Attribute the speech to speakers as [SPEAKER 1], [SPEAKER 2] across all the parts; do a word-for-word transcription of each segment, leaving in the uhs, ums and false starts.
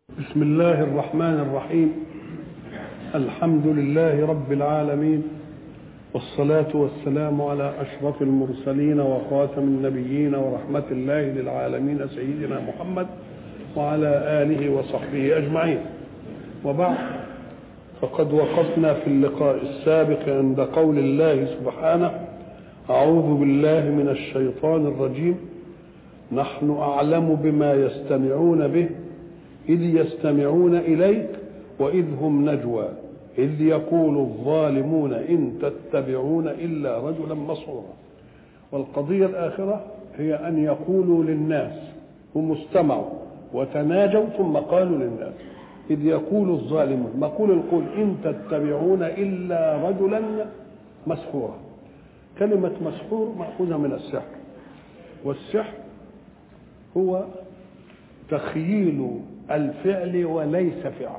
[SPEAKER 1] بسم الله الرحمن الرحيم. الحمد لله رب العالمين، والصلاة والسلام على أشرف المرسلين وخاتم النبيين ورحمة الله للعالمين سيدنا محمد وعلى آله وصحبه أجمعين. وبعد، فقد وقفنا في اللقاء السابق عند قول الله سبحانه: أعوذ بالله من الشيطان الرجيم، نحن أعلم بما يستمعون به إذ يستمعون إليك وإذ هم نجوى إذ يقول الظالمون إن تتبعون إلا رجلا مسحورا. والقضية الآخرة هي أن يقولوا للناس، هم استمعوا وتناجوا ثم قالوا للناس إذ يقول الظالمون، مقول القول إن تتبعون إلا رجلا مسحورا. كلمة مسحور مأخوذة من السحر، والسحر هو تخييل الفعل وليس فعل،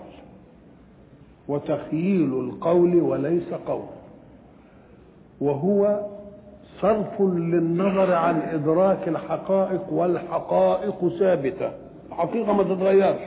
[SPEAKER 1] وتخييل القول وليس قول، وهو صرف للنظر عن إدراك الحقائق، والحقائق ثابتة، الحقيقة ما تتغيرش.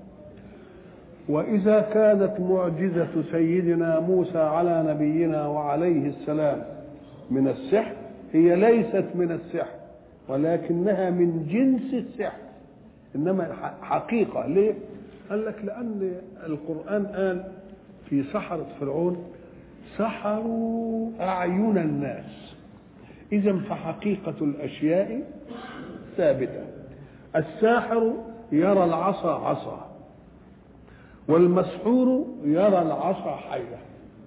[SPEAKER 1] وإذا كانت معجزة سيدنا موسى على نبينا وعليه السلام من السحر، هي ليست من السحر ولكنها من جنس السحر، إنما حقيقة. ليه؟ قال لك لأن القرآن قال في سحرة فرعون: سحروا أعين الناس. إذن فحقيقة الأشياء ثابتة. الساحر يرى العصا عصا، والمسحور يرى العصا حية.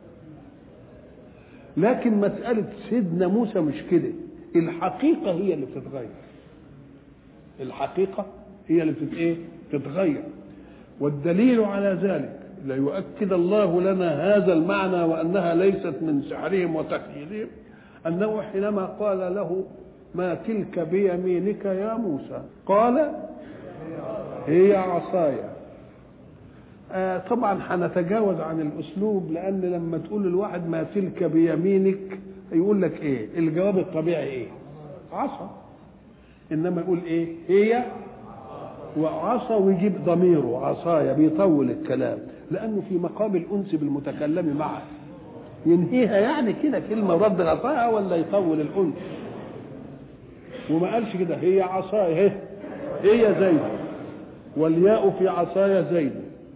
[SPEAKER 1] لكن مسألة سيدنا موسى مش كده، الحقيقة هي اللي بتتغير، الحقيقة هي اللي بتت ايه تتغير. والدليل على ذلك ليؤكد الله لنا هذا المعنى وأنها ليست من سحرهم وتخيلهم، أنه حينما قال له: ما تلك بيمينك يا موسى؟ قال: هي عصاي. آه طبعا هنتجاوز عن الأسلوب، لأن لما تقول للواحد ما تلك بيمينك يقول لك ايه؟ الجواب الطبيعي ايه؟ عصا. إنما يقول ايه؟ هي وعصا، ويجيب ضميره عصايا، بيطول الكلام لأنه في مقام الأنس بالمتكلم معه، ينهيها يعني كده كلمة ورد غطاها، ولا يطول الأنس. وما قالش كده هي عصايا، هي زيد، والياء في عصايا زيد،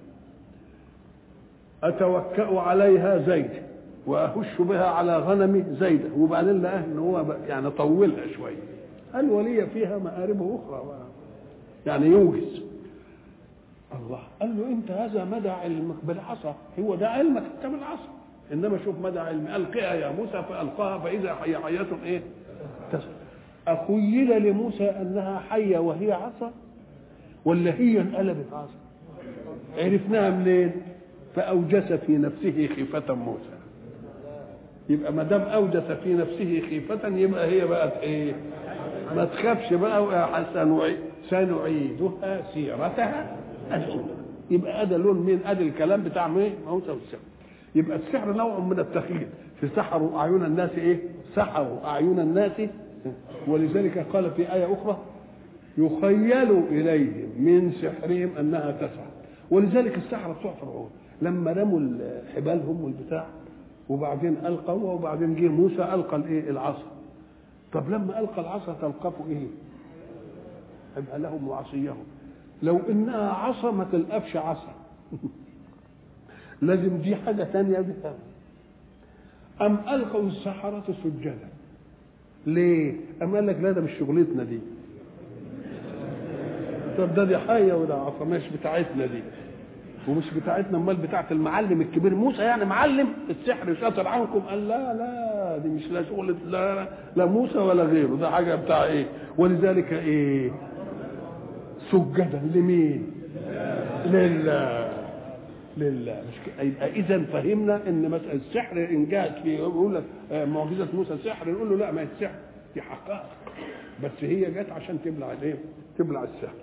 [SPEAKER 1] أتوكأ عليها زيد، وأهش بها على غنمي زيد. وبعدين لقاه إن هو يعني طولها شوية، قال: ولي فيها مآرب أخرى، يعني يوجز. الله قال له: انت هذا مدى علمك بالعصا، هو ده علمك انت بالعصا، انما شوف مدى علم. القها يا موسى، فالقاها فاذا هي حيه ايه تسعى. اخيل لموسى انها حيه وهي عصا، ولا هي انقلبت عصا؟ عرفناها منين؟ فاوجس في نفسه خيفه موسى. يبقى ما دام اوجس في نفسه خيفه، يبقى هي بقت ايه؟ ما تخافش بقى يا حسن، سنعيدها سيرتها الأولى. يبقى هذا لون مين؟ ادي الكلام بتاع مين؟ موسى والسحر. يبقى السحر نوع من التخيل. في سحروا اعين الناس ايه؟ سحروا اعين الناس. ولذلك قال في آية أخرى: يخيل إليهم من سحرهم أنها تسعى. ولذلك السحرة بتوع فرعون لما رموا حبالهم والبتاع، وبعدين ألقوا، وبعدين جه موسى ألقى الايه؟ العصا. طب لما ألقى العصا تلقفوا ايه؟ يبقى لهم وعصيهم. لو انها عصا ما تلقفش عصا لازم دي حاجه ثانيه بها. ام القوا السحره سجدا. ليه؟ ام قال لك: لا، ده مش شغلتنا دي. طب ده دي حيه وده عصا، مش بتاعتنا دي، ومش بتاعتنا، امال بتاعت المعلم الكبير موسى، يعني معلم السحر شاطر عنكم. قال: لا لا، دي مش لا شغل لا, لا موسى ولا غيره، ده حاجه بتاع ايه؟ ولذلك ايه؟ سجدا لمين؟ لله. لله. مش يبقى اذا فهمنا ان مساله السحر ان جاءت في يقول لك معجزه موسى سحر، نقول له: لا، ما هي السحر دي حقائق، بس هي جت عشان تبلع الايه؟ تبلع السحر.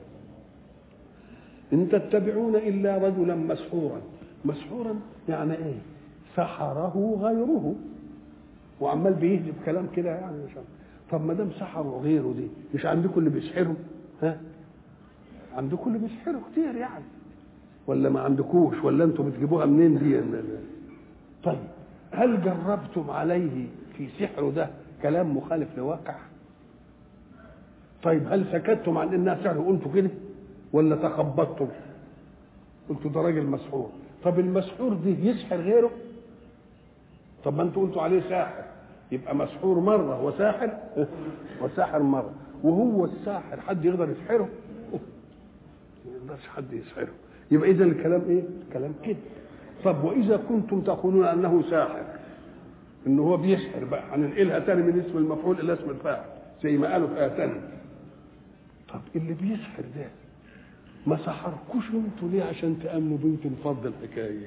[SPEAKER 1] إن تتبعون إلا رجلا مسحورا. مسحورا يعني إيه؟ سحره غيره، وعمال بيهجب كلام كده يعني. مش طب ما دام سحره غيره، دي مش عندكم اللي بيسحروا؟ ها؟ عندكم اللي بيسحروا كتير يعني. ولا ما عندكوش ولا انتم بتجيبوها منين دي؟ طيب هل جربتم عليه في سحره ده كلام مخالف لواقع؟ طيب هل سكتتم عن انها سحر وقلتوا كده ولا تخبطتم قلتوا ده راجل مسحور؟ طب المسحور دي يسحر غيره؟ طب ما انتوا قلتوا عليه ساحر، يبقى مسحور مره وساحر وساحر مره. وهو الساحر حد يقدر يسحره؟ ما يقدرش حد يسحره. يبقى اذا الكلام ايه؟ كلام كده. طب واذا كنتم تقولون انه ساحر، ان هو بيسحر، بقى هننقلها تاني من اسم المفعول الى اسم الفاعل زي ما قالوا في ايه تاني. طب اللي بيسحر ده ما سحركوش انتوا ليه عشان تامنوا بنت نفض الحكايه؟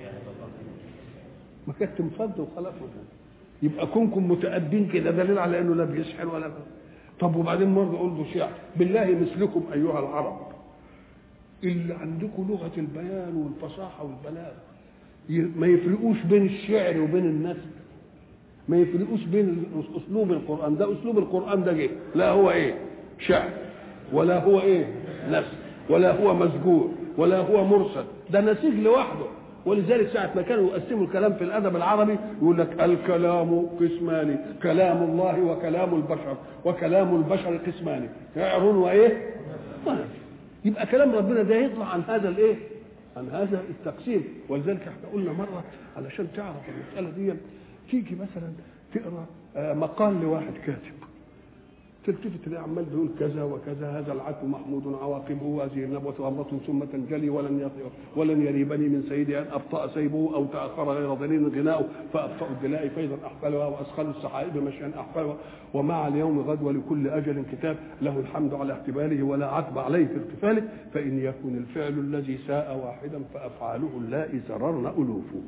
[SPEAKER 1] ما كانت تنفض وخلاص. يبقى كونكم متأدين كده دليل على انه لا بيسحر ولا بي. طب وبعدين مرة قلتوا شعر بالله مثلكم ايها العرب اللي عندكم لغة البيان والفصاحة والبلاغة ما يفرقوش بين الشعر وبين النثر، ما يفرقوش بين اسلوب القرآن ده. اسلوب القرآن ده جه لا هو ايه شعر ولا هو ايه نثر ولا هو مسجور ولا هو مرسل، ده نسيج لوحده. ولذلك ساعة ما كانوا يقسموا الكلام في الأدب العربي يقول لك الكلام قسمان، كلام الله وكلام البشر، وكلام البشر قسمان، شعر وإيه؟ طيب يبقى كلام ربنا ده يطلع عن هذا الإيه؟ عن هذا التقسيم. ولذلك احنا قلنا مرة علشان تعرف المسألة دي، تيجي مثلا تقرأ مقال لواحد كاتب، تلتفت تلاقي عمال بيقول كذا وكذا، هذا العتب محمود عواقبه، هذه النبوة أمرة ثم تنجلي، ولن ولن يريبني من سيدي أن أبطأ سيبه أو تأخر غير ظنين غناؤه، فأبطأ الدلاء فيضا أحفلها وأسخل السحائب مشيا أحفلها، ومع اليوم غد ولكل أجل كتاب، له الحمد على احتباله ولا عتب عليه في اغتفاله، فإن يكن الفعل الذي ساء واحدا فأفعاله اللائي زررن ألوفه.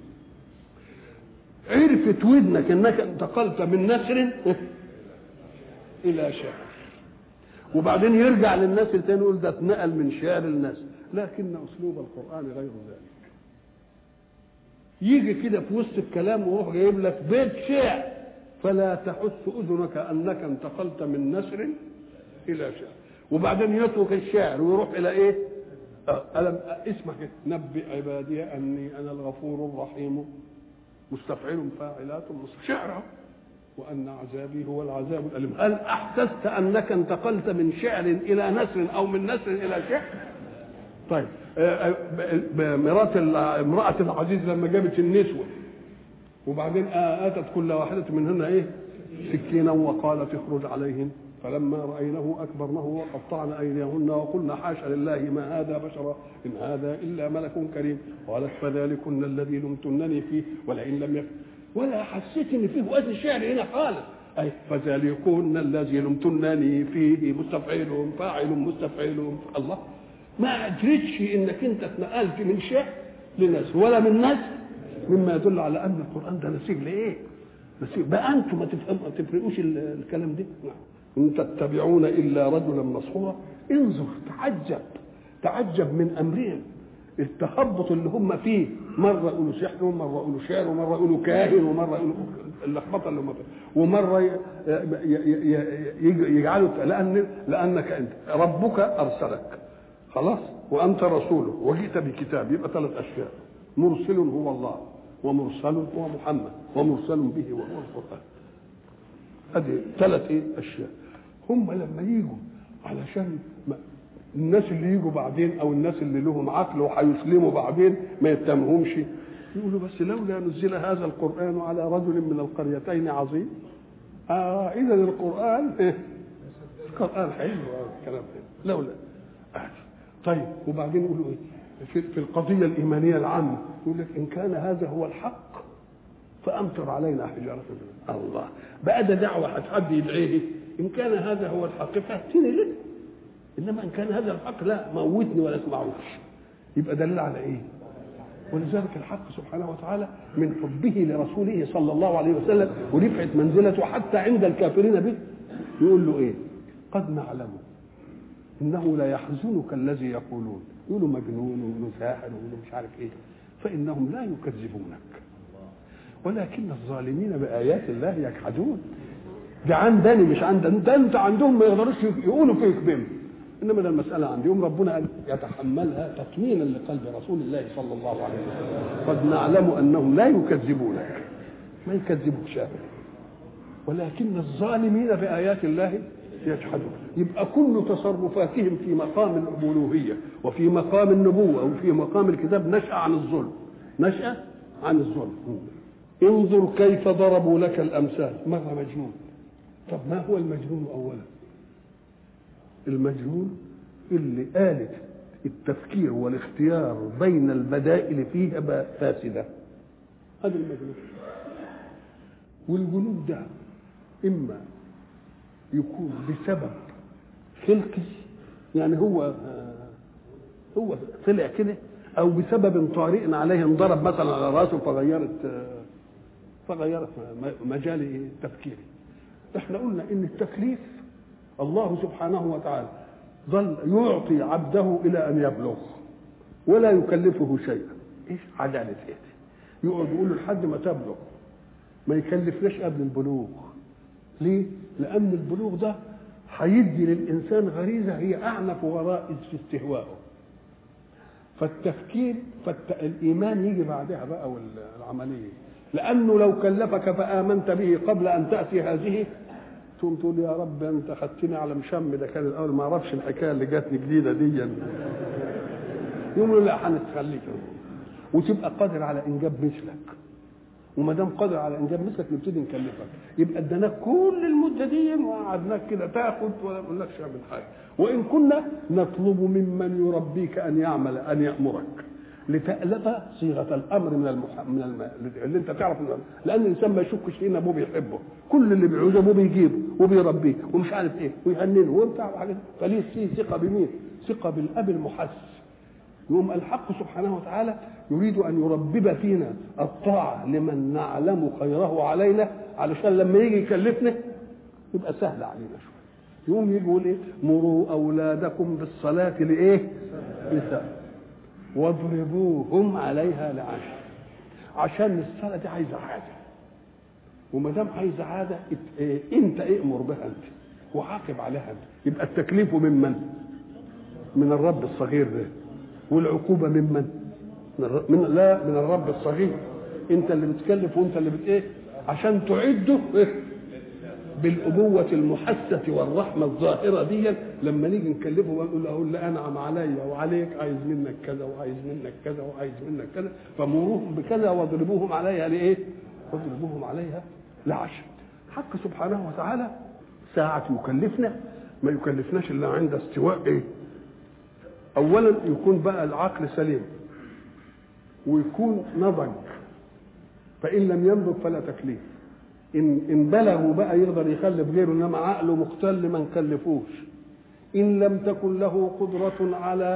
[SPEAKER 1] عرفت ودنك أنك انتقلت من نثر الى شعر، وبعدين يرجع للناس التاني يقول ده اتنقل من شعر للناس، لكن اسلوب القران غير ذلك. يجي كده في وسط الكلام ويروح جايب لك بيت شعر، فلا تحس اذنك انك انتقلت من نثر الى شعر، وبعدين يترك الشعر ويروح الى ايه؟ ألم اسمع كده، نبئ عبادي اني انا الغفور الرحيم مستفعل فاعلات شعر، وأن عذابي هو العذاب الأليم. هل أحسست أنك انتقلت من شعر إلى نثر أو من نثر إلى شعر؟ طيب مرات امرأة العزيز لما جابت النسوة وبعدين آتت كل واحدة منهن إيه؟ سكينا وقالت اخرج عليهن، فلما رأينه أكبرنه وقطعن أيديهن وقلنا حاشا لله ما هذا بشرا إن هذا إلا ملك كريم، قالت فذلكن الذي لمتنني فيه ولئن لم يكن، ولا حسيت ان فيه وزن شعر هنا خالص. اي فذلكن الذي لمتنني فيه مستفعل فاعل مستفعل. الله ما ادريتش انك انت اتنقلت من شعر لنثر ولا من نثر، مما يدل على ان القران ده نسيج لايه؟ نسيج بقى. انتم ما تفهموا ما تفرقوش الكلام ده. ان تتبعون الا رجلا مسحورا. انظر تعجب تعجب من امرهم، التخبط اللي هم فيه، مره يقولوا سحر ومره يقولوا شعر ومره يقولوا كاهن ومره يقولوا اللخبطه اللي هم فيه، ومره يجعلوا لان لانك انت ربك ارسلك خلاص وانت رسوله وجئت بكتاب، يبقى ثلاث اشياء، مرسل هو الله ومرسل هو محمد ومرسل به وهو القران. ادي ثلاث ايه اشياء. هم لما يجوا علشان الناس اللي يجوا بعدين او الناس اللي لهم عقل وهيسلموا بعدين ما يتهمهمش، يقولوا بس لولا نزل هذا القرآن على رجل من القريتين عظيم. اه اذا القرآن ايه؟ القرآن حلو الكلام ده لولا آه. طيب وبعدين يقولوا ايه في, في القضية الإيمانية العامة، يقول لك إن كان هذا هو الحق فأمطر علينا حجارة من الله. بقى ده دعوة حد يدعيه، إن كان هذا هو الحق فأتيني له، انما ان كان هذا الحق لا موتني ولا اسمعوش. يبقى دليل على ايه؟ ولذلك الحق سبحانه وتعالى من حبه لرسوله صلى الله عليه وسلم ورفعه منزلته حتى عند الكافرين به يقول له ايه؟ قد نعلم انه لا يحزنك الذي يقولون، يقولوا مجنون ويقولوا ساحر ويقولوا مش عارف ايه، فانهم لا يكذبونك ولكن الظالمين بايات الله يجحدون. ده عندني مش عندك، ده انت عندهم ما يقدروش يقولوا فيك بهم. انما ده المساله عندي يوم ربنا قال يتحملها تطمينا لقلب رسول الله صلى الله عليه وسلم. قد نعلم انهم لا يكذبونك، ما يكذبوك ابدا، ولكن الظالمين بايات الله يجحدون. يبقى كل تصرفاتهم في مقام الالوهيه وفي مقام النبوه وفي مقام الكتاب نشأ عن الظلم، نشأ عن الظلم. انظر كيف ضربوا لك الامثال. مره مجنون. طب ما هو المجنون اولا؟ المجنون اللي آلة التفكير والاختيار بين البدائل فيها فاسدة، هذا المجنون. والجنون ده إما يكون بسبب خلقي، يعني هو هو طلع كده، أو بسبب طارئ عليه انضرب مثلا على راسه فغيرت فغيرت مجال تفكيري. احنا قلنا إن التكليف الله سبحانه وتعالى ظل يعطي عبده الى ان يبلغ ولا يكلفه شيئا. ايش عداله هذه؟ يقعد يقول له لحد ما تبلغ، ما يكلفناش قبل البلوغ. ليه؟ لان البلوغ ده هيدي للانسان غريزه هي اعنف غرائز في استهوائه، فالتفكير فالايمان يجي بعدها بقى والعمليه. لانه لو كلفك فامنت به قبل ان تاتي هذه تقوم تقول يا رب انت خدتني على مشم، ده كان الاول ما اعرفش الحكايه اللي جاتني جديده دي. يقول لا هنتخليك وتبقى قادر على انجاب مثلك، وما دام قادر على انجاب مثلك نبتدي نكلفك. يبقى اديناك كل المده دي وقعدناك كده تاخد ولا نقولكش اعمل حاجه. وان كنا نطلب ممن يربيك ان يعمل ان يامرك لتألف صيغه الامر من المح... من الم... اللي انت تعرف من... لان الانسان ما يشكش فينا ابوه بيحبه، كل اللي بيعوزه ابوه بيجيبه وبيربيه ومش عارف ايه ويهننه وبتاع حاجه، فليه فيه ثقه بمين؟ ثقه بالاب المحس. يوم الحق سبحانه وتعالى يريد ان يربب فينا الطاعه لمن نعلم خيره علينا، علشان لما يجي يكلفنا يبقى سهل علينا شويه. يوم يجي يقول ايه؟ مروا اولادكم بالصلاه لايه؟ لسهل واضربوهم عليها لعشر. عشان الصلاه دي عايزه عاده، وما دام عايزه عاده إيه؟ انت ائمر بها انت وعاقب عليها انت. يبقى التكليف من من؟ من الرب الصغير ده، والعقوبه من من؟ من لا من الرب الصغير. انت اللي بتكلف وانت اللي بت ايه؟ عشان تعده إيه؟ بالابوه المحسه والرحمه الظاهره دي. لما نيجي نكلفه ونقول له لا انعم عليا وعليك، عايز منك كذا وعايز منك كذا وعايز منك كذا، فمروهم بكذا واضربوهم عليها لايه؟ واضربوهم عليها لعشر. حق سبحانه وتعالى ساعة يكلفنا ما يكلفناش الا عند استواء ايه؟ اولا يكون بقى العقل سليم ويكون نضج، فان لم ينضج فلا تكليف. ان ان بلغوا بقى يقدر يخلف غيره، انما عقله مختل ما نكلفوش. ان لم تكن له قدره على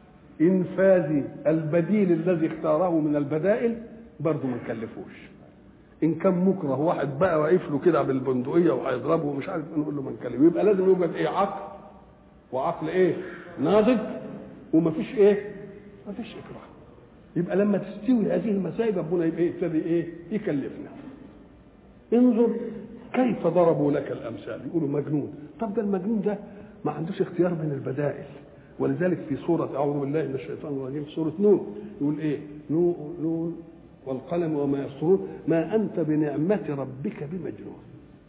[SPEAKER 1] انفاذ البديل الذي اختاره من البدائل برضه ما نكلفوش. ان كان مكره واحد بقى واقف له كده بالبندقيه وهيضربه ومش عارف نقول له ما نكلفه. يبقى لازم يوجد ايه؟ عقل، وعقل ايه؟ ناضج، ومفيش ايه؟ مفيش اكراه. يبقى لما تستوي هذه المسائل ربنا يبقى يبتدي ايه؟ يكلفنا. انظر كيف ضربوا لك الامثال. يقولوا مجنون. طب ده المجنون ده ما عندوش اختيار بين البدائل، ولذلك في سوره اعوذ بالله من الشيطان الرجيم سوره نون يقول ايه؟ نون نون والقلم وما يسطرون ما انت بنعمه ربك بمجنون.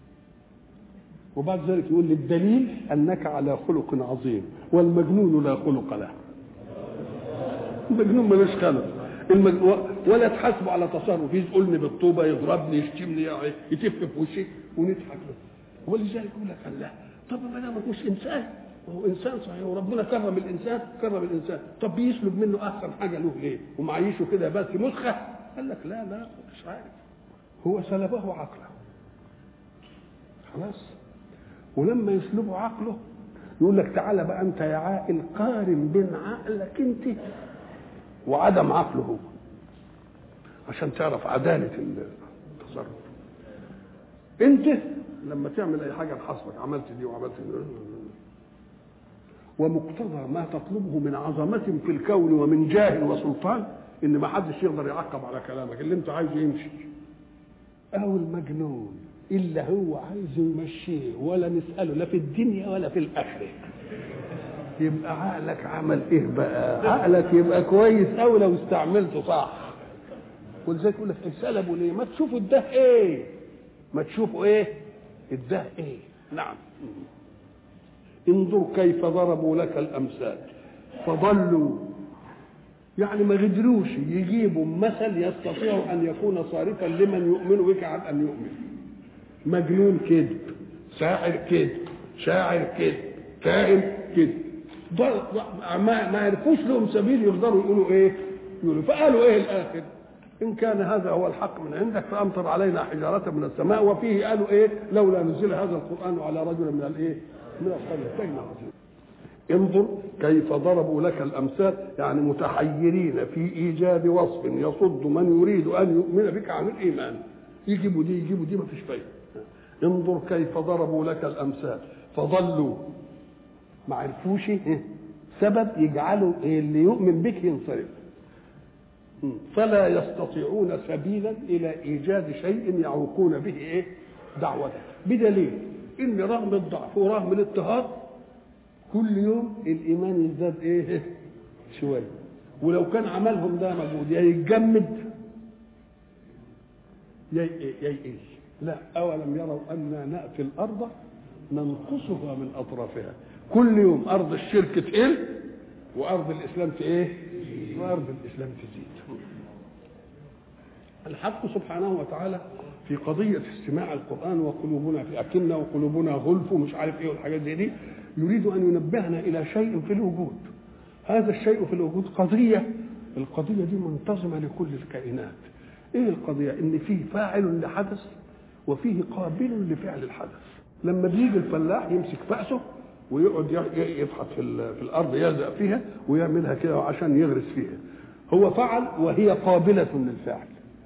[SPEAKER 1] وبعد ذلك يقول للدليل انك على خلق عظيم والمجنون لا خلق له. المجنون ملوش خلق، المجنون ولا تحاسبه على تصرف، يقولني بالطوبه، يضربني، يشتمني، يتف في وشي ونضحك له. ولذلك يقول لك الله طب ما دام مش انسان، وهو انسان صحيح وربنا كرم الانسان كرم الانسان، طب بيسلب منه احسن حاجه له ليه؟ ومعيشه كده بس مسخه؟ قال لك لا لا مش عارف، هو سلبه عقله خلاص. ولما يسلبه عقله يقول لك تعالى بقى انت يا عاقل قارن بين عقلك انت وعدم عقله هو، عشان تعرف عداله التصرف. انت لما تعمل اي حاجه نحاسبك، عملت دي وعملت دي، ومقتضى ما تطلبه من عظمه في الكون ومن جاه وسلطان ان ما حدش يقدر يعقب على كلامك، اللي انت عايزه يمشي. او المجنون الا هو عايزه يمشيه ولا نساله لا في الدنيا ولا في الاخره. يبقى عقلك عمل ايه بقى؟ عقلك يبقى كويس قوي لو استعملته صح. ولذلك يقول لك سلبوا ليه؟ ما تشوفوا الده ايه؟ ما تشوفوا ايه؟ الده ايه؟ نعم. انظر كيف ضربوا لك الامثال فضلوا، يعني ما قدروش يجيبوا مثل يستطيع ان يكون صارفا لمن يؤمن بك عن ان يؤمن. مجنون كذب، ساحر كذب، شاعر كذب، كاهن كذب، ما ما عرفوش لهم سبيل يقدروا يقولوا ايه؟ يقولوا فقالوا ايه الاخر؟ ان كان هذا هو الحق من عندك فامطر علينا حجاره من السماء. وفيه قالوا ايه؟ لولا نزل هذا القران على رجل من الايه؟ من القريتين عظيم. انظر كيف ضربوا لك الامثال، يعني متحيرين في ايجاد وصف يصد من يريد ان يؤمن بك عن الايمان. يجيبوا دي يجيبوا دي ما فيش فايده. انظر كيف ضربوا لك الامثال فضلوا، ما عرفوش سبب يجعلوا اللي يؤمن بك ينصرف، فلا يستطيعون سبيلا الى ايجاد شيء يعوقون به ايه؟ دعوته. بدليل ان رغم الضعف ورغم الاضطهاد كل يوم الايمان يزداد ايه؟ شويه. ولو كان عملهم ده موجود يا يتجمد يا يئس. لا، اولم يروا انا ناتي الارض ننقصها من اطرافها. كل يوم ارض الشرك تقل وارض الاسلام ايه؟ وارض الاسلام تزيد. الحق سبحانه وتعالى في قضيه استماع القران وقلوبنا في اكنه وقلوبنا غلف ومش عارف ايه والحاجات دي, دي يريد ان ينبهنا الى شيء في الوجود. هذا الشيء في الوجود قضيه، القضيه دي منتظمه لكل الكائنات. ايه القضيه؟ ان فيه فاعل لحدث وفيه قابل لفعل الحدث. لما بيجي الفلاح يمسك فأسه ويقعد يفحط في الارض يلزق فيها ويعملها كده عشان يغرس فيها، هو فعل وهي قابله للفعل.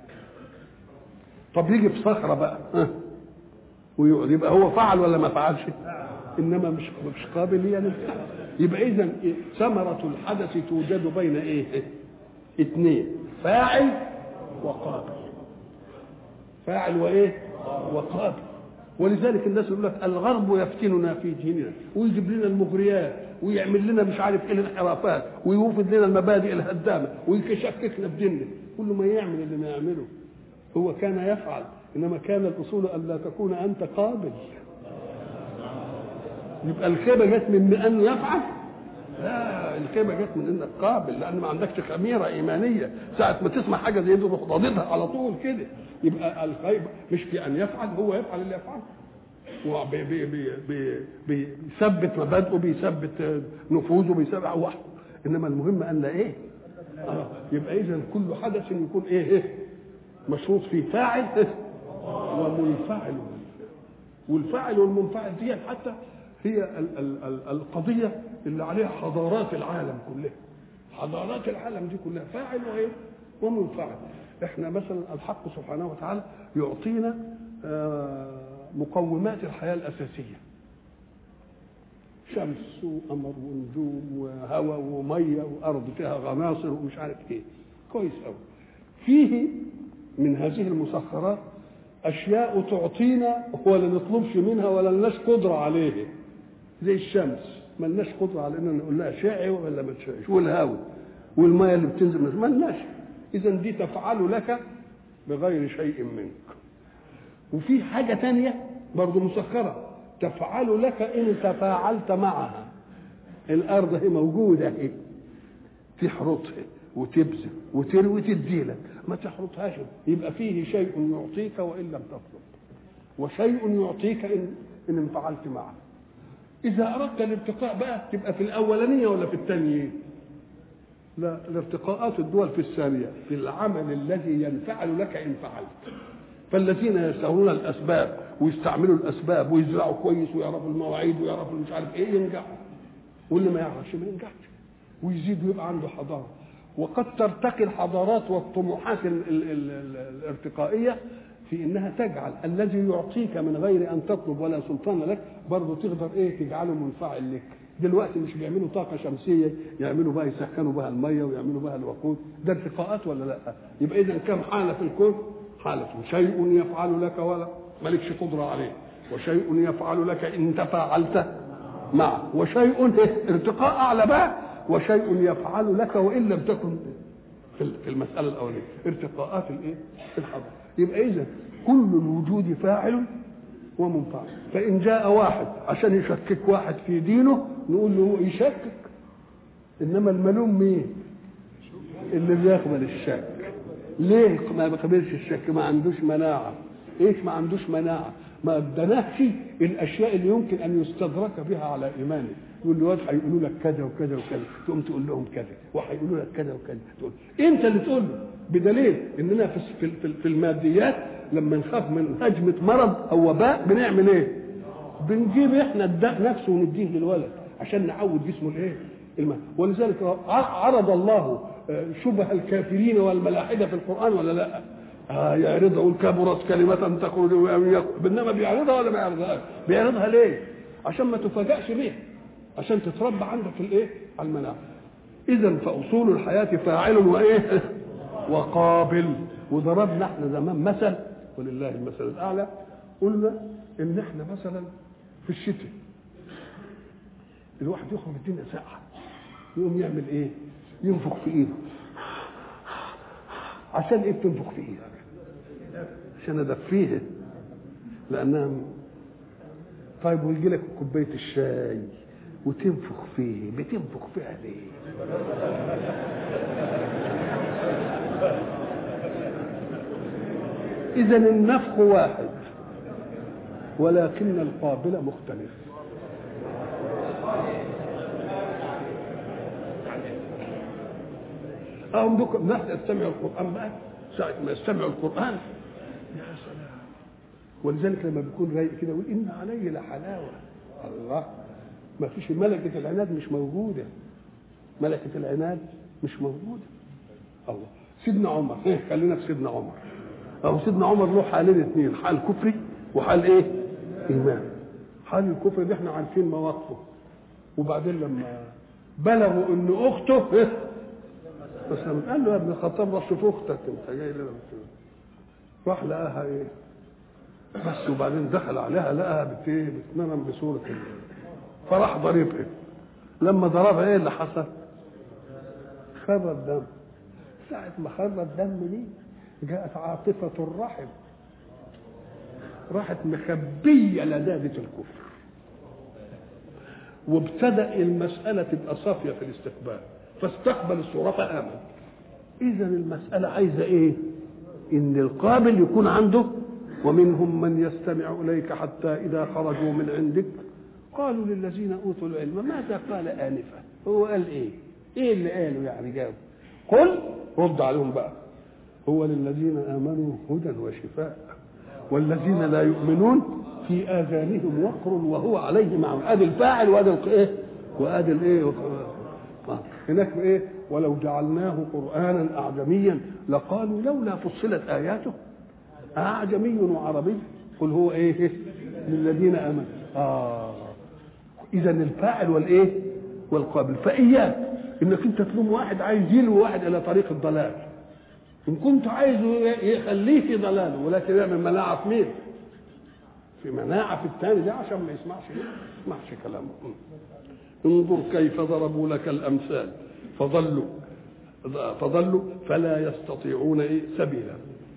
[SPEAKER 1] طب يجي في صخره بقى ها ويقعد، يبقى هو فعل ولا ما فعلش؟ انما مش مش قابل للفعل. يبقى اذا ثمره الحدث توجد بين ايه؟ اثنين، فاعل وقابل. فاعل وايه؟ وقابل. ولذلك الناس يقول لك الغرب يفتننا في ديننا ويجيب لنا المغريات ويعمل لنا مش عارف ايه الانحرافات ويوفد لنا المبادئ الهدامه ويشككنا في ديننا. كل ما يعمل اللي ما يعمله هو كان يفعل، انما كان الاصول ان لا تكون انت قابل. يبقى الخيبه جت من انه يفعل؟ لا، الخيبه جت من انك قابل، لان ما عندكش خميره ايمانيه. ساعه ما تسمع حاجه زي دي تروح ضادتها على طول كده. يبقى الخيبه مش في ان يفعل، هو يفعل اللي يفعله وبيثبت مبادئه، بيثبت نفوذه، بيثبت وحده. انما المهم ان لا ايه؟ آه. يبقى اذا كل حدث يكون ايه؟ ايه؟ مشروط فيه فاعل ومنفعل. والفاعل والمنفعل دي حتى هي ال ال ال القضيه اللي عليها حضارات العالم كلها. حضارات العالم دي كلها فاعل وايه؟ ومنفعل. احنا مثلا الحق سبحانه وتعالى يعطينا مقومات الحياه الاساسيه، شمس وقمر ونجوم وهواء وميه وارض فيها غناصر ومش عارف ايه. كويس قوي. فيه من هذه المسخرات اشياء تعطينا ولا نطلبش منها ولا لناش قدره عليها، زي الشمس ما لناش قدره على ان نقول لها شعي ولا ما تشعيش، والهواء والميه اللي بتنزل ما لناش. اذا دي تفعل لك بغير شيء منك. وفي حاجه ثانيه برضه مسخره تفعل لك ان تفاعلت معها. الارض هي موجوده اهي تحرطها وتبذل وتروي تدي لك، ما تحرطهاش. يبقى فيه شيء يعطيك وان لم تطلب، وشيء يعطيك ان ان انفعلت معه. اذا اردت الارتقاء بقى تبقى في الاولانيه ولا في الثانيه؟ لا، الارتقاءات الدول في الثانيه، في العمل الذي ينفعل لك ان فعلت. فالذين يستغلون الاسباب ويستعملوا الاسباب ويزرعوا كويس ويعرفوا المواعيد ويعرفوا مش عارف ايه ينجحوا، واللي ما يعرفش ما ينجحش ويزيد ويبقى عنده حضاره. وقد ترتقي الحضارات والطموحات ال ال ال ال الارتقائيه في انها تجعل الذي يعطيك من غير ان تطلب ولا سلطان لك برضه تقدر ايه؟ تجعله منفعل لك. دلوقتي مش بيعملوا طاقه شمسيه يعملوا بها يسخنوا بها الميه ويعملوا بها الوقود، ده ارتقاءات ولا لا؟ يبقى اذا كم حاله في الكون؟ حاله شيء يفعل لك ولا مالكش قدره عليه، وشيء يفعل لك ان تفاعلت مع وشيء ارتقاء اعلى بقى، وشيء يفعل لك وان لم تكن في المساله الاوليه ارتقاءات الايه الحضر. يبقى اذا كل الوجود فاعل ومنفعل. فان جاء واحد عشان يشكك واحد في دينه نقول له يشكك، انما الملوم مين؟ اللي بيقبل الشك. ليه ما بيقبلش الشك؟ ما عندوش مناعه. ايش ما عندوش مناعه؟ ما ادناهش الاشياء اللي يمكن ان يستدرك بها على ايمانه. يقول له واد هيقولوا لك كذا وكذا وكذا، تقوم تقول لهم كذا، وهيقولوا لك كذا وكذا، تقول انت اللي تقول له. بدليل اننا في في في الماديات لما نخاف من هجمه مرض او وباء بنعمل ايه؟ بنجيب احنا الداء نفسه ونديه للولد عشان نعود جسمه الايه؟ الماء. ولذلك عرض الله شبه الكافرين والملاحده في القران ولا لا؟ آه يعرضها يقول كبرت كلمة تخرج من يقول، انما بيعرضها ولا ما بيعرضهاش؟ بيعرضها ليه؟ عشان ما تفاجئش بيها، عشان تتربى عندك في الايه؟ على المناعه. اذا فاصول الحياه فاعل وايه؟ وقابل. وضربنا احنا زمان مثل ولله المثل الاعلى، قلنا ان احنا مثلا في الشتاء الواحد يخرج الدنيا ساقعه يقوم يعمل ايه؟ ينفخ في ايده. عشان ايه بتنفخ في ايدك؟ عشان ادفيها لانها. طيب ويجي لك كوبايه الشاي وتنفخ فيه، بتنفخ فيها ليه؟ اذا النفخ واحد ولكن القابل مختلف. أهم دوك نحن يستمعوا القرآن بقى ساعة ما يستمعوا القرآن يا سلام. ولذلك لما بيكون رايق كده يقول إن علي لحلاوة. الله، ما فيش ملكة العناد مش موجودة، ملكة العناد مش موجودة. الله. سيدنا عمر، إيه خلينا في سيدنا عمر. أو سيدنا عمر له حالين اثنين، حال كفري وحال إيه؟ إيمان. حال الكفر ده إحنا عارفين مواقفه. وبعدين لما بلغوا إن أخته إيه؟ بس لما قال له يا ابن الخطاب روح شوف اختك انت جاي لنا، راح لقاها ايه بس. وبعدين دخل عليها لقاها بت بتنام بصوره ال... فراح ضربها. لما ضربها ايه اللي حصل؟ خر الدم. ساعه ما خر الدم دي جاءت عاطفه الرحم، راحت مخبيه لذاذه الكفر، وابتدأ المساله تبقى صافيه في الاستقبال، فاستقبل الصورة فآمن. إذا المسألة عايزة إيه؟ إن القابل يكون عنده. ومنهم من يستمع إليك حتى إذا خرجوا من عندك قالوا للذين أوتوا العلم ماذا قال آنفا؟ هو قال إيه؟ إيه اللي قاله يعني جاوب؟ قل رد عليهم بقى. هو للذين آمنوا هدى وشفاء والذين لا يؤمنون في آذانهم وقر وهو عليهم عمى. أدي الفاعل وأدي الإيه؟ وأدي الإيه؟ هناك ايه؟ ولو جعلناه قرانا اعجميا لقالوا لولا فصلت اياته اعجمي وعربي قل هو ايه؟ للذين امنوا. اه اذا الفاعل والايه؟ والقابل. فاياك انك انت تلوم واحد عايز يلوي واحد الى طريق الضلال، ان كنت عايزه يخليه في ضلاله، ولكن يعمل مناعه في مين؟ في مناعه في الثاني ده عشان ما يسمعش ما يسمعش كلامه. انظر كيف ضربوا لك الامثال فضلوا فضلوا فلا يستطيعون ايه سبيلا.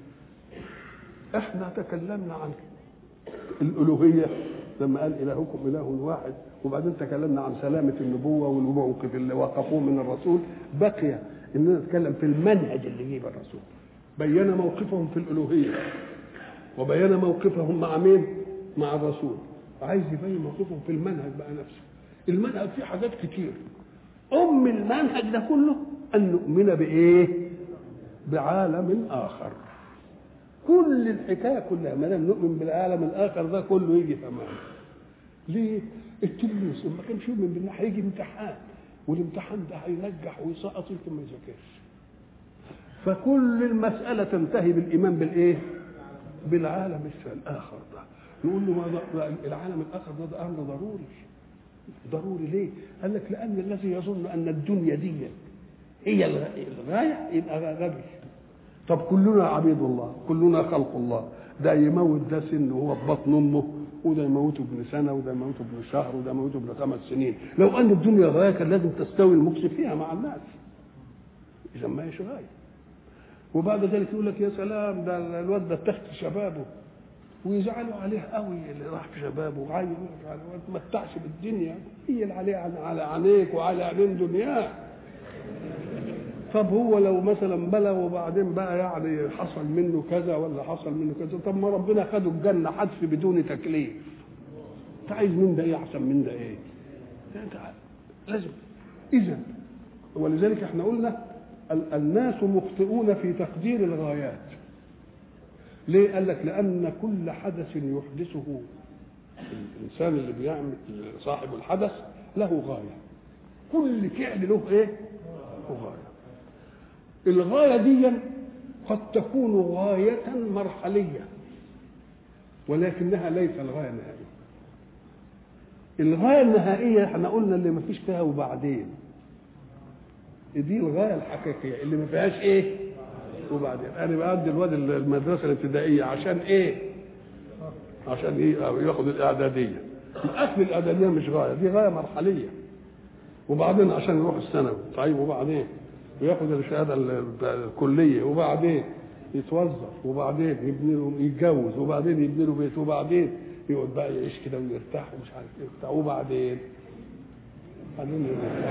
[SPEAKER 1] احنا تكلمنا عن الالوهيه لما قال الهكم اله واحد، وبعدين تكلمنا عن سلامه النبوه والموقف اللي وقفوه من الرسول. بقي اننا نتكلم في المنهج اللي جيب الرسول. بين موقفهم في الالوهيه وبين موقفهم مع مين؟ مع الرسول. عايز يبين موقفهم في المنهج بقى نفسه. المنهج فيه حاجات كتير. ام المنهج ده كله ان نؤمن بايه؟ بعالم اخر. كل الحكايه كلها ما دام نؤمن بالعالم الاخر ده كله يجي تمام. ليه؟ التلميذ لما كانش يؤمن بالله هيجي امتحان، والامتحان ده هينجح ويسقط يمكن ما يذاكرش. فكل المساله تنتهي بالايمان بالايه؟ بالعالم الاخر ده. نقول له ما العالم الاخر ده, ده امر ضروري. ضروري ليه؟ قال لك لان الذي يظن ان الدنيا دي هي الغايه يبقى غبي. طب كلنا عبيد الله، كلنا خلق الله، ده يموت ده سن وهو في بطن امه وده يموته ابن سنه وده يموته ابن شهر وده يموته ابن خمس سنين. لو ان الدنيا غايه كان لازم تستوي المكس فيها مع الناس، اذا ما هيش غايه. وبعد ذلك يقول لك يا سلام ده الواد ده تحت شبابه، ويزعلوا عليه قوي اللي راح في شبابه وعايز ما تمتعش بالدنيا، هي اللي عليه على عينيك وعلى عينين دنياه. طب هو لو مثلا بلغ وبعدين بقى يعني حصل منه كذا ولا حصل منه كذا، طب ما ربنا خده الجنه حذف بدون تكليف. انت عايز من ده ايه احسن من ده ايه؟ انت لازم اذا. ولذلك احنا قلنا الناس مخطئون في تقدير الغايات. ليه؟ قال لك لان كل حدث يحدثه الانسان اللي بيعمل صاحب الحدث له غايه. كل فعل له ايه؟ له غايه. الغايه دي قد تكون غايه مرحليه ولكنها ليس الغايه النهائيه. الغايه النهائيه احنا قلنا اللي ما فيش فيها وبعدين، دي الغايه الحقيقيه اللي ما فيهاش ايه وبعدين. انا بادي الواد المدرسه الابتدائيه عشان ايه؟ عشان ايه؟ ياخد الاعداديه. الاكل الاعداديه مش غايه، دي غايه مرحليه. وبعدين عشان يروح الثانوي، طيب وبعدين وياخد الشهاده الكليه، وبعدين يتوظف، وبعدين يبني يتجوز، وبعدين يبني له بيت، وبعدين يقعد بقى يعيش كده ويرتاح ومش عارف ايه وبتاع، وبعدين بعدين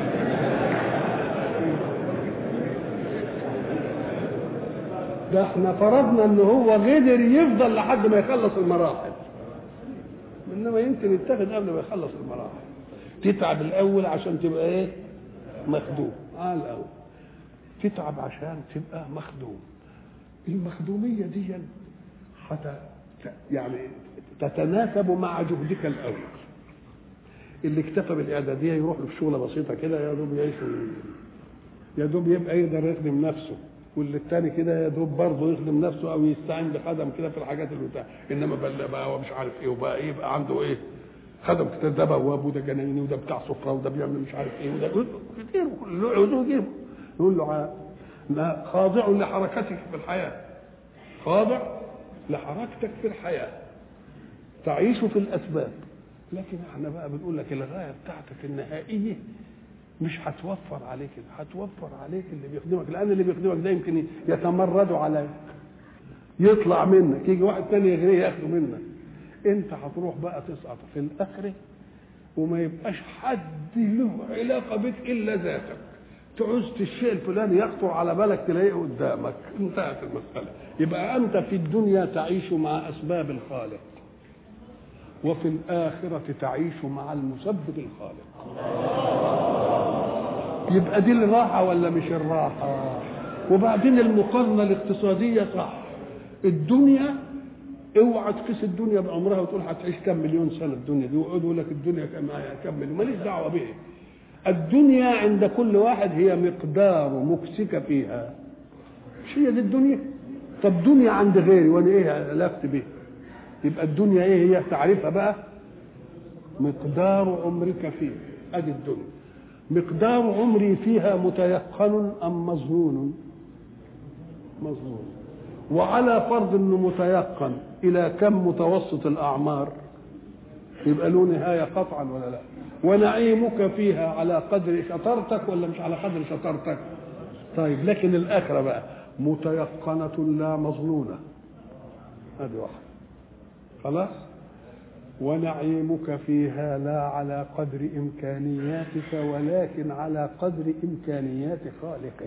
[SPEAKER 1] ده احنا فرضنا ان هو قدر يفضل لحد ما يخلص المراحل، انما يمكن يتخذ قبل ما يخلص المراحل. تتعب الاول عشان تبقى ايه؟ مخدوم. اه الاول تتعب عشان تبقى مخدوم. المخدوميه دي حتى يعني تتناسب مع جهدك الاول. اللي اكتفى بالاعداديه يروح له في شغله بسيطه كده يا دوب يعيش، يا دوب يبقى يقدر يخدم نفسه، واللي الثاني كده يا دوب برضه يخدم نفسه او يستعين بخدم كده في الحاجات اللي بتاع. انما بقى بقى مش عارف ايه وبقى ايه، يبقى عنده ايه؟ خدم كده، ده بواب وده جنايني وده بتاع سفره وده بيعمل مش عارف ايه وده كتير له. يقول له لا، خاضع لحركتك في الحياه، خاضع لحركتك في الحياه، تعيش في الاسباب. لكن احنا بقى بنقول لك الغايه بتاعتك النهائيه مش هتوفر عليك، هتوفر عليك اللي بيخدمك، لان اللي بيخدمك ده يمكن يتمرد عليك، يطلع منك، يجي واحد تاني يغريه ياخده منك. انت هتروح بقى تسقط في الاخره وما يبقاش حد له علاقه بك الا ذاتك. تعوز الشيء الفلاني يخطر على بالك تلاقيه قدامك، انتهت المساله. يبقى انت في الدنيا تعيش مع اسباب الخالق، وفي الآخرة تعيش مع المسبب الخالق. يبقى دي الراحة ولا مش الراحة؟ وبعدين المقارنة الاقتصادية صح. الدنيا اوعى تقيس الدنيا بعمرها وتقول هتعيش كم مليون سنة الدنيا دي، ويقعدوا يقول لك الدنيا كم مليون، ماليش دعوة بيه. الدنيا عند كل واحد هي مقدار مكسك فيها. مش هي دي الدنيا؟ طب دنيا عند غيري وانا ايه علاقتي بيه؟ يبقى الدنيا ايه هي تعريفها بقى؟ مقدار عمرك فيه. ادي الدنيا مقدار عمري فيها متيقن ام مظنون؟ مظنون. وعلى فرض انه متيقن، الى كم متوسط الاعمار؟ يبقى له نهايه قطعا ولا لا؟ ونعيمك فيها على قدر شطارتك ولا مش على قدر شطارتك؟ طيب لكن الاخره بقى متيقنه لا مظنونه. ادي واحد خلاص. ونعيمك فيها لا على قدر إمكانياتك ولكن على قدر إمكانيات خالقك.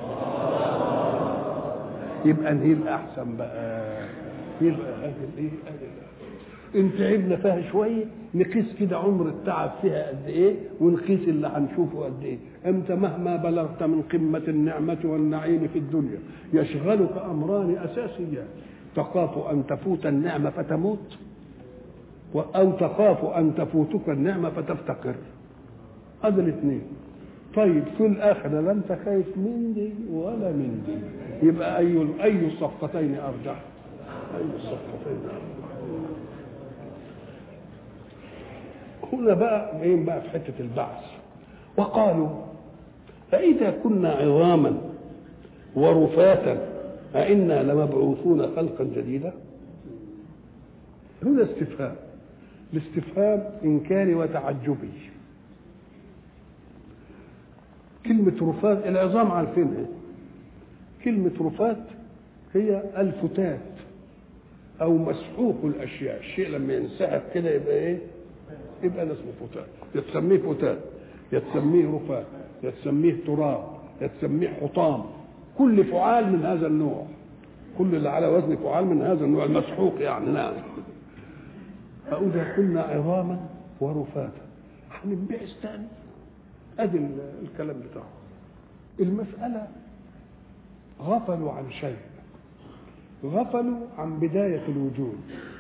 [SPEAKER 1] يبقى نهي الأحسن بقى. يبقى هذه الإيه؟ إن تعبنا فيها شوية نقيس كده عمر التعب فيها قد إيه، ونقيس اللي هنشوفه قد إيه. أنت مهما بلغت من قمة النعمة والنعيم في الدنيا يشغلك أمران أساسيان: تخاف أن تفوت النعمة فتموت، أو تخاف أن تفوتك النعمة فتفتقر. هذا الاثنين. طيب في الآخرة لا أنت خايف من دي ولا من دي، يبقى أي أي الصفقتين أرجح؟ أي الصفقتين أرجح؟ هنا بقى جايين بقى في حتة البعث. وقالوا فإذا كنا عظاما ورفاتا أئنا لمبعوثون خلقا جديدا. هنا استفهام. الاستفهام إنكاري وتعجبي. كلمة رفات العظام عارفينها، كلمة رفات هي الفتات أو مسحوق الأشياء، الشيء لما ينسحب كده يبقى إيه؟ يبقى اسمه فتات، يتسميه فتات، يتسميه رفات، يتسميه تراب، يتسميه حطام، كل فعال من هذا النوع، كل اللي على وزن فعال من هذا النوع المسحوق يعني. نعم. فإذا كنا عظاما ورفاتا هننبعث تاني. ادي الكلام بتاعه. المسألة غفلوا عن شيء، غفلوا عن بداية الوجود،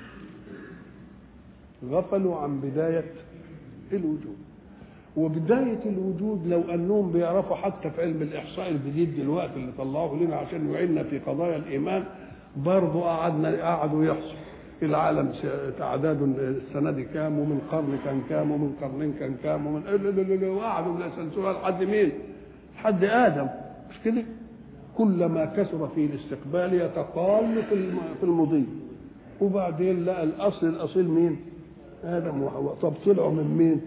[SPEAKER 1] غفلوا عن بداية الوجود. وبداية الوجود لو أنهم بيعرفوا حتى في علم الإحصاء الجديد دلوقتي اللي طلعوه لنا عشان يعيننا في قضايا الإيمان، برضو قعدنا قعدوا يحصوا العالم تعداد السنة دي كام، ومن قرن كان كام، ومن قرنين كان كام، ومن وقعدوا يسلسلوا لحد مين؟ لحد آدم، مش كده؟ كلما كثر في الاستقبال يتقال في المضي، وبعدين لقى الأصل الأصيل مين؟ آدم وحواء. طب طلعوا من مين؟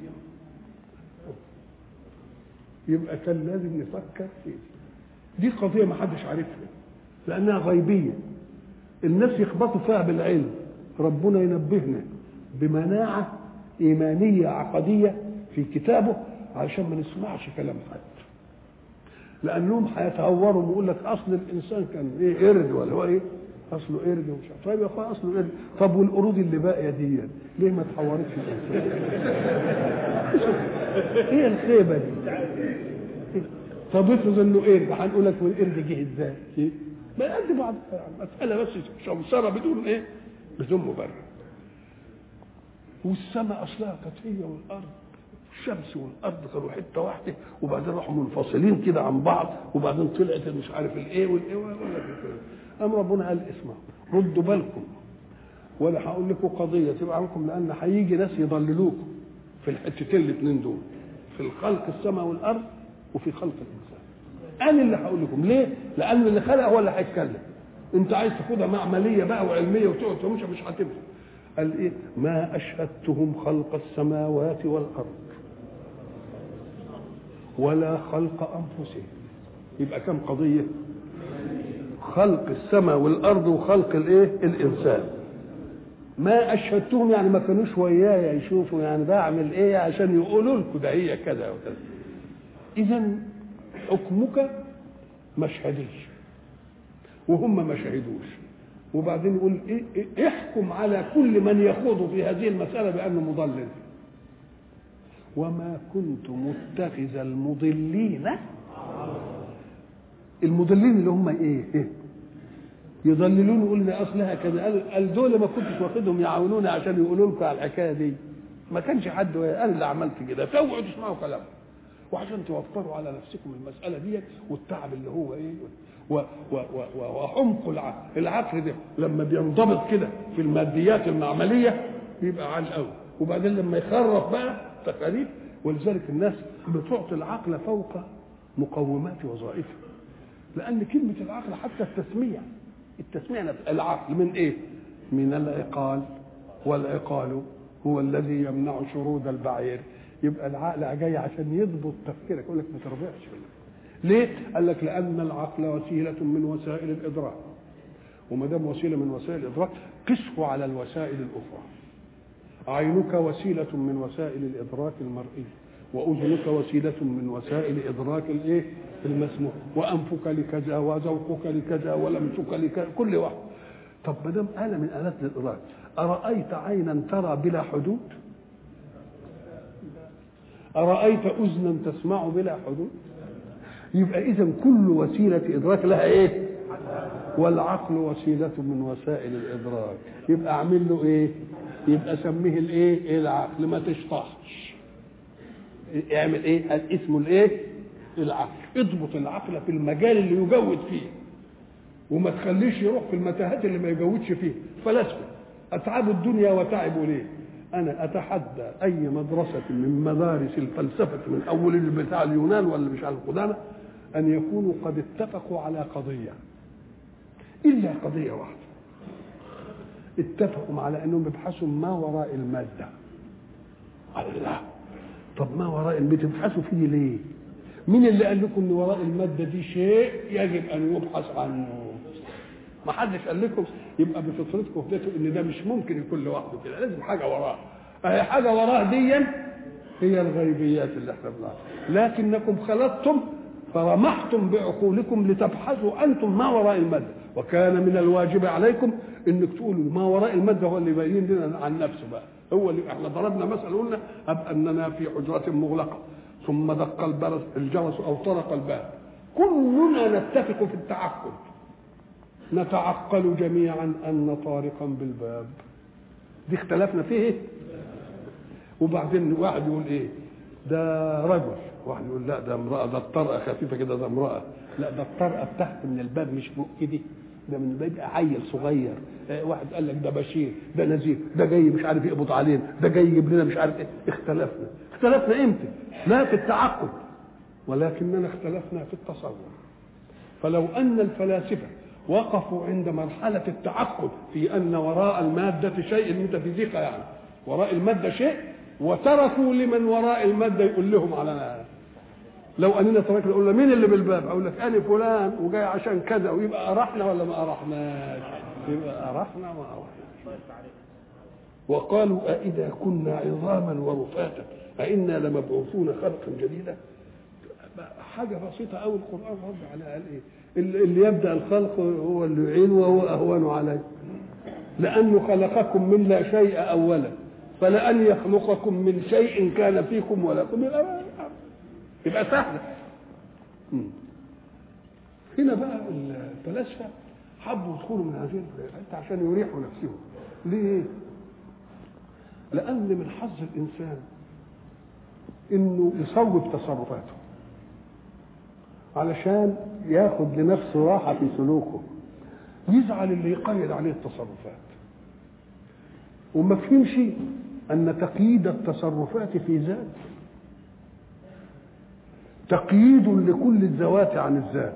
[SPEAKER 1] يبقى كان لازم نفكر فيه. دي قضية ما حدش عارفها لأنها غيبية، الناس يخبطوا فيها بالعلم. ربنا ينبهنا بمناعة إيمانية عقدية في كتابه علشان ما نسمعش كلام حد، لأنهم هيتهوروا ويقول لك أصل الإنسان كان إيه؟ قرد، ولا هو إيه؟ أصله قرد ومش عارف. طيب يا أخويا أصله قرد، طب والقرود اللي باقية دي ليه ما اتحورتش الإنسان؟ إيه الخيبة دي؟ طب افرض إنه قرد، هنقول لك والقرد جه إزاي؟ إيه؟ ما قد بعض مسألة بس شمسرة بدون إيه؟ بدون مبرر. والسماء أصلها كانت هي والأرض، الشمس والأرض كانوا حتة واحدة، وبعدين راحوا منفصلين كده عن بعض، وبعدين طلعت مش عارف الإيه والإيه ولا كده. أم ربنا قال اسمعوا ردوا بالكم، ولا هقول لكم قضية تبقى عنكم، لأن هيجي ناس يضللوكم في الحتتين الاثنين دول، في الخلق السماء والأرض وفي خلق الإنسان. أنا اللي هقول لكم ليه؟ لأن اللي خلق هو اللي هيتكلم. أنت عايز تاخدها معملية بقى وعلمية وتقعد تمشي مش هتنفع. قال إيه؟ ما أشهدتهم خلق السماوات والأرض ولا خلق أنفسهم. يبقى كم قضية؟ خلق السماء والأرض وخلق الإيه؟ الإنسان. ما أشهدتهم يعني ما كانوش ويايا يشوفوا يعني بعمل إيه عشان يقولوا لكم ده هي كذا وكذا. إذا حكمك ما شهدش وهم ما شهدوش، وبعدين يقول إيه إيه احكم على كل من يخوض في هذه المسألة بأنه مضلل. وما كنت متخذ المضلين، المضلين اللي هم ايه, إيه؟ يضللون يقولنا اصلها كذا، قال دول ما كنتش واخدهم يعاونوني عشان يقولوا لكم على الحكايه دي، ما كانش حد، انا اللي عملت كده، فاوعوا تسمعوا كلامه وعشان توفروا على نفسكم المساله دي والتعب اللي هو ايه و و و وحمق العقل. العقل ده لما بينضبط كده في الماديات المعمليه بيبقى عال قوي، وبعدين لما يخرف بقى تقارير. ولذلك الناس بتعطي العقل فوق مقومات وظائفه، لان كلمه العقل حتى التسميه التسميه العقل من ايه؟ من العقال، والعقال هو الذي يمنع شرود البعير. يبقى العقل جاي عشان يضبط تفكيرك، يقول لك ما تربعش. ليه؟ قال لك لان العقل وسيله من وسائل الادراك، وما دام وسيله من وسائل الادراك قسه على الوسائل الاخرى. عينك وسيله من وسائل الادراك المرئي، واذنك وسيله من وسائل ادراك الايه؟ المسموع، وانفك لكذا، وذوقك لكذا، ولمسك لكذا، كل واحد. طب ما دام آلة من آلات الادراك، ارايت عينا ترى بلا حدود؟ ارايت اذنا تسمع بلا حدود؟ يبقى اذا كل وسيله ادراك لها ايه؟ والعقل وسيله من وسائل الادراك، يبقى اعمل له ايه؟ يبقى سميه الايه؟ العقل، ما تشطحش. اعمل ايه؟ اسمه الايه؟ العقل. اضبط العقل في المجال اللي يجود فيه، وما تخليش يروح في المتاهات اللي ما يجودش فيه. فلسفه اتعبوا الدنيا وتعبوا ليه؟ انا اتحدى اي مدرسه من مدارس الفلسفه من اول بتاع اليونان ولا مش على القدامى ان يكونوا قد اتفقوا على قضيه، الا قضيه واحده اتفقوا على انهم يبحثوا ما وراء الماده. الله، طب ما وراء المادة بتبحثوا فيه ليه؟ مين اللي قال لكم ان وراء المادة دي شيء يجب ان يبحث عنه؟ ما حدش قال لكم. يبقى بفطرتكم هديتوا ان ده مش ممكن يكون لوحده كده، لازم حاجه وراه. اهي حاجه وراه دي هي الغيبيات اللي احنا بنعرفها، لكنكم خلطتم فرمحتم بعقولكم لتبحثوا انتم ما وراء الماده، وكان من الواجب عليكم انك تقولوا ما وراء الماده هو اللي يبين لنا عن نفسه بقى. هو اللي احنا ضربنا مثلا قلنا اب اننا في حجره مغلقه ثم دق الجرس او طرق الباب، كلنا نتفق في التعقل، نتعقل جميعا ان طارقا بالباب، دي اختلفنا فيه. وبعدين واحد يقول ايه ده رجل، واحد يقول لا ده امراه، ده الطرقه خفيفه كده ده امراه، لا ده الطرقه بتاعت من الباب مش فوق ايدي، ده من الباب عيل صغير. واحد قال لك ده بشير، ده نذير، ده جاي مش عارف يقبض علينا، ده جاي يجيب لنا مش عارف ايه. اختلفنا اختلفنا امتى؟ لا في التعقل، ولكننا اختلفنا في التصور. فلو ان الفلاسفه وقفوا عند مرحله التعقل في ان وراء الماده شيء، الميتافيزيقا يعني وراء الماده شيء، وتركوا لمن وراء الماده يقول لهم على، لو اننا تركنا نقول له مين اللي بالباب؟ اقول لك انا فلان وجاي عشان كذا، ويبقى ارحنا ولا ما ارحناش؟ يبقى ارحنا ما ارحناش. وقالوا أإذا كنا عظاما ورفاتا أإنا لمبعوثون خلقا جديدا. حاجه بسيطه قوي القران رد عليها، قال ايه؟ اللي يبدا الخلق هو اللي يعين وهو اهون عليه، لانه خلقكم من لا شيء اولا، فلان يخلقكم من شيء كان فيكم ولكم يبقى سهل. هنا بقى الفلاسفه حبوا يدخلوا من هذه الحته عشان يريحوا نفسهم. ليه؟ لان من حظ الانسان انه يصوب تصرفاته علشان ياخد لنفسه راحه في سلوكه، يزعل اللي يقيد عليه التصرفات، وما فهمش ان تقييد التصرفات في ذات تقييد لكل الذوات عن الذات.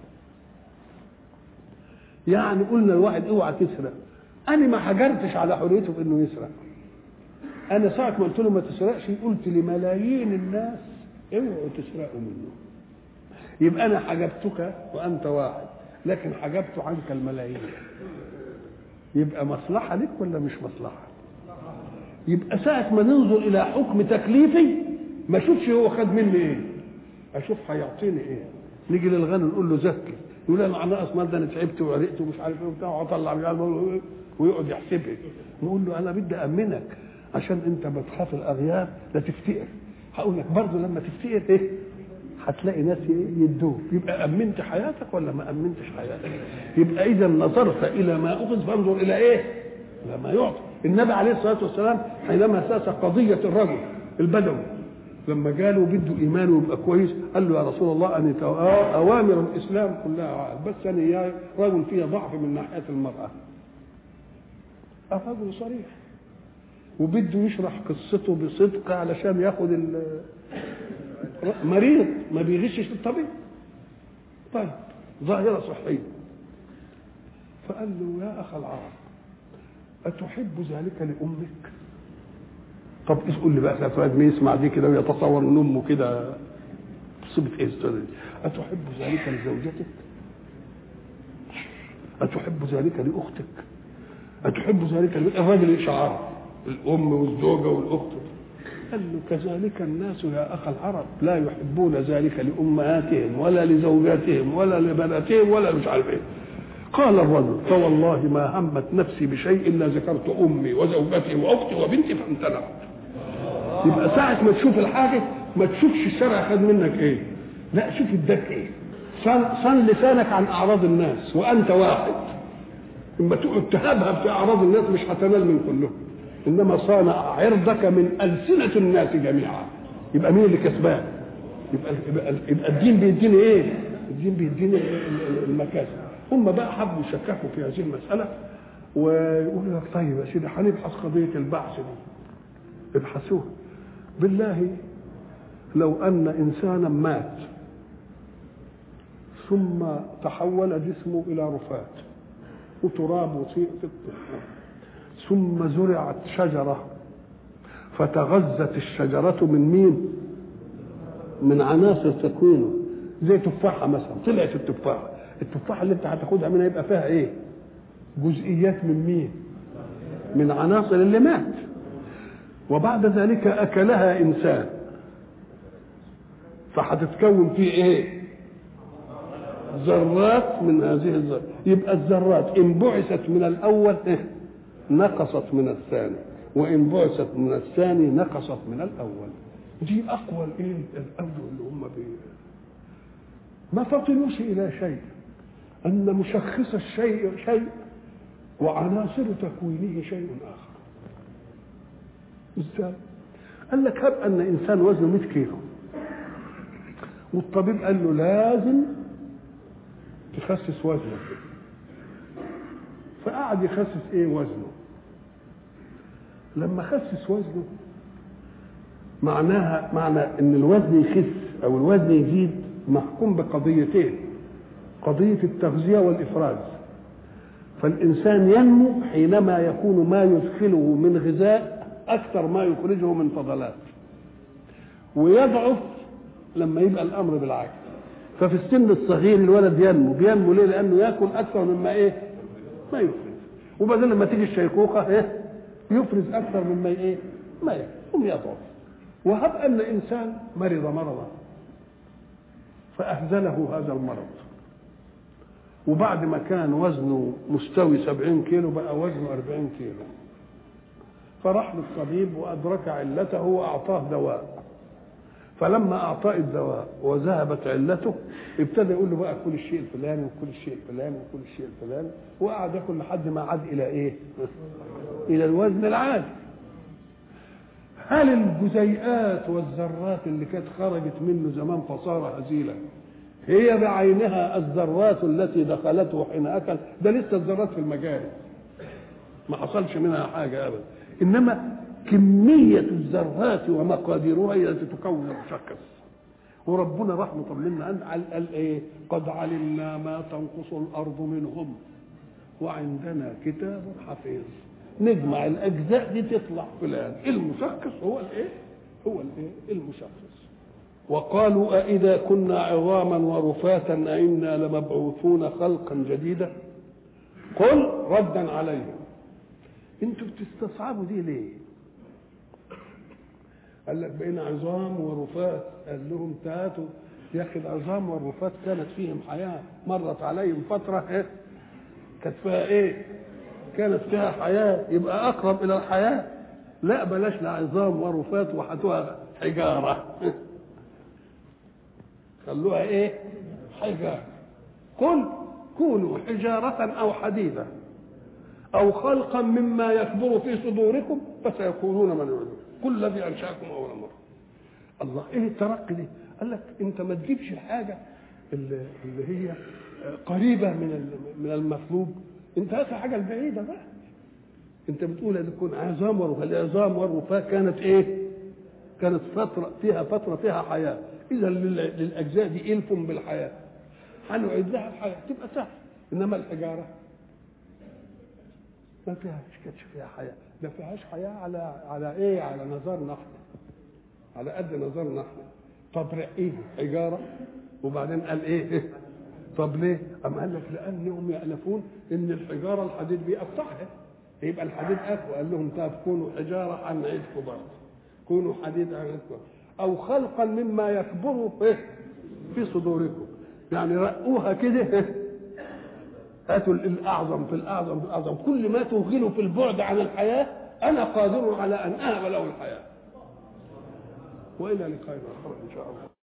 [SPEAKER 1] يعني قلنا الواحد اوعى تسرق، انا ما حجرتش على حريته بانه يسرق، انا ساعه ما قلت له ما تسرقش قلت لملايين الناس اوعوا تسرقوا منه، يبقى انا حجبتك وانت واحد، لكن حجبت عنك الملايين، يبقى مصلحه لك ولا مش مصلحه؟ يبقى ساعه ما ننظر الى حكم تكليفي ما اشوفش هو خد مني ايه، اشوف هيعطيني ايه. نيجي للغني نقول له زكي، يقول انا ناقص مال، ده انا تعبت وعرقت ومش عارف ايه وبتاع، واطلع ويقعد يحسبها. نقول له انا بدي امنك عشان انت بتخاف الاغيار لا تفتقر، هقول لك برضه لما تفتقر ايه هتلاقي ناس يدوك، يبقى امنت حياتك ولا ما امنتش حياتك؟ يبقى اذا نظرت الى ما اخذ فانظر الى ايه؟ الى ما يعطى. النبي عليه الصلاه والسلام حينما ساس قضيه الرجل البدوي لما قالوا بده ايمانه يبقى كويس، قال له يا رسول الله ان اوامر الاسلام كلها بس انا يا رجل فيها ضعف من ناحيه المراه. الرجل صريح وبده يشرح قصته بصدق علشان ياخد مريض ما بيغشش الطبيب. طيب ظاهره صحيه، فقال له يا اخ العرب اتحب ذلك لامك؟ طب اسال لي بقى ساعه ما يسمع دي كده ويتصور ان امه كده صبت ايه استاذ، اتحب ذلك لزوجتك؟ اتحب ذلك لاختك؟ اتحب ذلك ل... الراجل شعار الام والزوجه والاخت. قال له كذلك الناس يا اخ العرب لا يحبون ذلك لامهاتهم ولا لزوجاتهم ولا لبناتهم ولا مش عارف ايه. قال الرجل فوالله ما همت نفسي بشيء الا ذكرت امي وزوجتي واختي وبنتي فامتنعت. يبقى ساعه ما تشوف الحاجه ما تشوفش الشرع خد منك ايه، لا شوف اداك ايه. صن, صن لسانك عن اعراض الناس وانت واحد، اما تقعد تهبها في اعراض الناس مش هتنال من كلهم، انما صان عرضك من السنه الناس جميعا. يبقى مين اللي كسبان؟ يبقى, يبقى, يبقى الدين بيديني ايه؟ الدين بيديني المكاسب. هم بقى حبوا يشككوا في هذه المساله ويقولوا لك طيب يا سيدي هنبحث قضيه البعث دي، ابحثوها. بالله لو ان انسانا مات ثم تحول جسمه الى رفات وتراب وطين ثم زرعت شجره فتغذت الشجرة من مين؟ من عناصر تكوينه. زي تفاحة مثلا، طلعت التفاحة، التفاحة اللي انت هتاخدها منها يبقى فيها ايه؟ جزئيات من مين؟ من عناصر اللي مات. وبعد ذلك أكلها إنسان، فهتتكون فيه ايه؟ ذرات من هذه الذرات. يبقى الذرات إن بعثت من الأول إيه؟ نقصت من الثاني، وإن بعثت من الثاني نقصت من الأول. دي أقوى الإيه؟ الأول اللي هم بيه. ما فطنوش إلى شيء، أن مشخص الشيء شيء وعناصر تكوينه شيء آخر. إزاي؟ قال لك هب أن إنسان وزنه مئة كيلو، والطبيب قال له لازم تخسس وزنه، فقعد يخسس ايه وزنه. لما خسس وزنه معناها معنى ان الوزن يخس او الوزن يزيد محكوم بقضيتين، قضية التغذية والإفراز. فالإنسان ينمو حينما يكون ما يدخله من غذاء أكثر ما يخرجه من فضلات، ويضعف لما يبقى الأمر بالعكس. ففي السن الصغير الولد ينمو، بينمو ليه؟ لأنه يأكل أكثر مما إيه؟ ما يفرز. وبعدين لما تيجي الشيخوخة إيه؟ يفرز أكثر مما إيه؟ ما يأكل، ثم يضعف. وهب أن إنسان مرض مرضا فأهزله هذا المرض، وبعد ما كان وزنه مستوي سبعين كيلو بقى وزنه أربعين كيلو، فراح للطبيب وأدرك علته وأعطاه دواء. فلما أعطاه الدواء وذهبت علته ابتدى يقول له بقى كل الشيء الفلاني وكل الشيء الفلاني وكل الشيء الفلاني، وقعد ياكل لحد ما عاد إلى إيه؟ إلى الوزن العادي. هل الجزيئات والذرات اللي كانت خرجت منه زمان فصار هزيلا هي بعينها الذرات التي دخلته حين أكل؟ ده لسه الذرات في المجاري ما حصلش منها حاجة أبدا، إنما كمية الذرات ومقاديرها هي التي تكون المشخص. وربنا راح مطمنا أن قال إيه؟ قد علمنا ما تنقص الأرض منهم وعندنا كتاب حفيظ. نجمع الأجزاء دي تطلع فلان المشخص هو الإيه؟ هو الإيه؟ المشخص. وقالوا أإذا كنا عظاما ورفاتا أئنا لمبعوثون خلقا جديدا. قل ردا عليهم انتوا بتستصعبوا دي ليه؟ قال لك بقينا عظام ورفات. قال لهم تاتوا يا اخي العظام والرفات كانت فيهم حياه، مرت عليهم فتره ايه؟ كانت فيها ايه؟ كانت فيها حياه، يبقى اقرب الى الحياه. لا بلاش لا عظام ورفات وحتوها حجاره خلوها ايه؟ حجاره. قل كونوا حجاره او حديدا او خلقا مما يكبر في صدوركم فسيقولون من يعلم كل الذي انشاكم اول مره. الله ايه الترقي دي؟ قال لك انت ما تجيبش الحاجه اللي, اللي هي قريبه من من المطلوب، انت هات الحاجه البعيده بقى. انت بتقول ان تكون عظام ورفات، العظام والرفات كانت ايه؟ كانت فتره فيها فتره فيها حياه، اذا للاجزاء دي الف بالحياه هنعيد لها الحياه تبقى سهل. انما الحجاره ما فيهاش، كانتش فيها حياه، ما فيهاش حياه على على ايه؟ على نظرنا احنا، على قد نظرنا احنا. طب رقيه حجاره وبعدين قال ايه؟ طب ليه؟ أم قال لك لانهم يألفون ان الحجاره الحديد بيقطعها، يبقى الحديد اقوى. قال لهم طب كونوا حجاره هنعيدكم برضه، كونوا حديد هنعيدكم، او خلقا مما يكبر في صدوركم. يعني رقوها كده، هاتوا الاعظم في الاعظم في الاعظم، كل ما توغلوا في البعد عن الحياه انا قادر على ان اهب له الحياه. والى لقاء اخر ان شاء الله.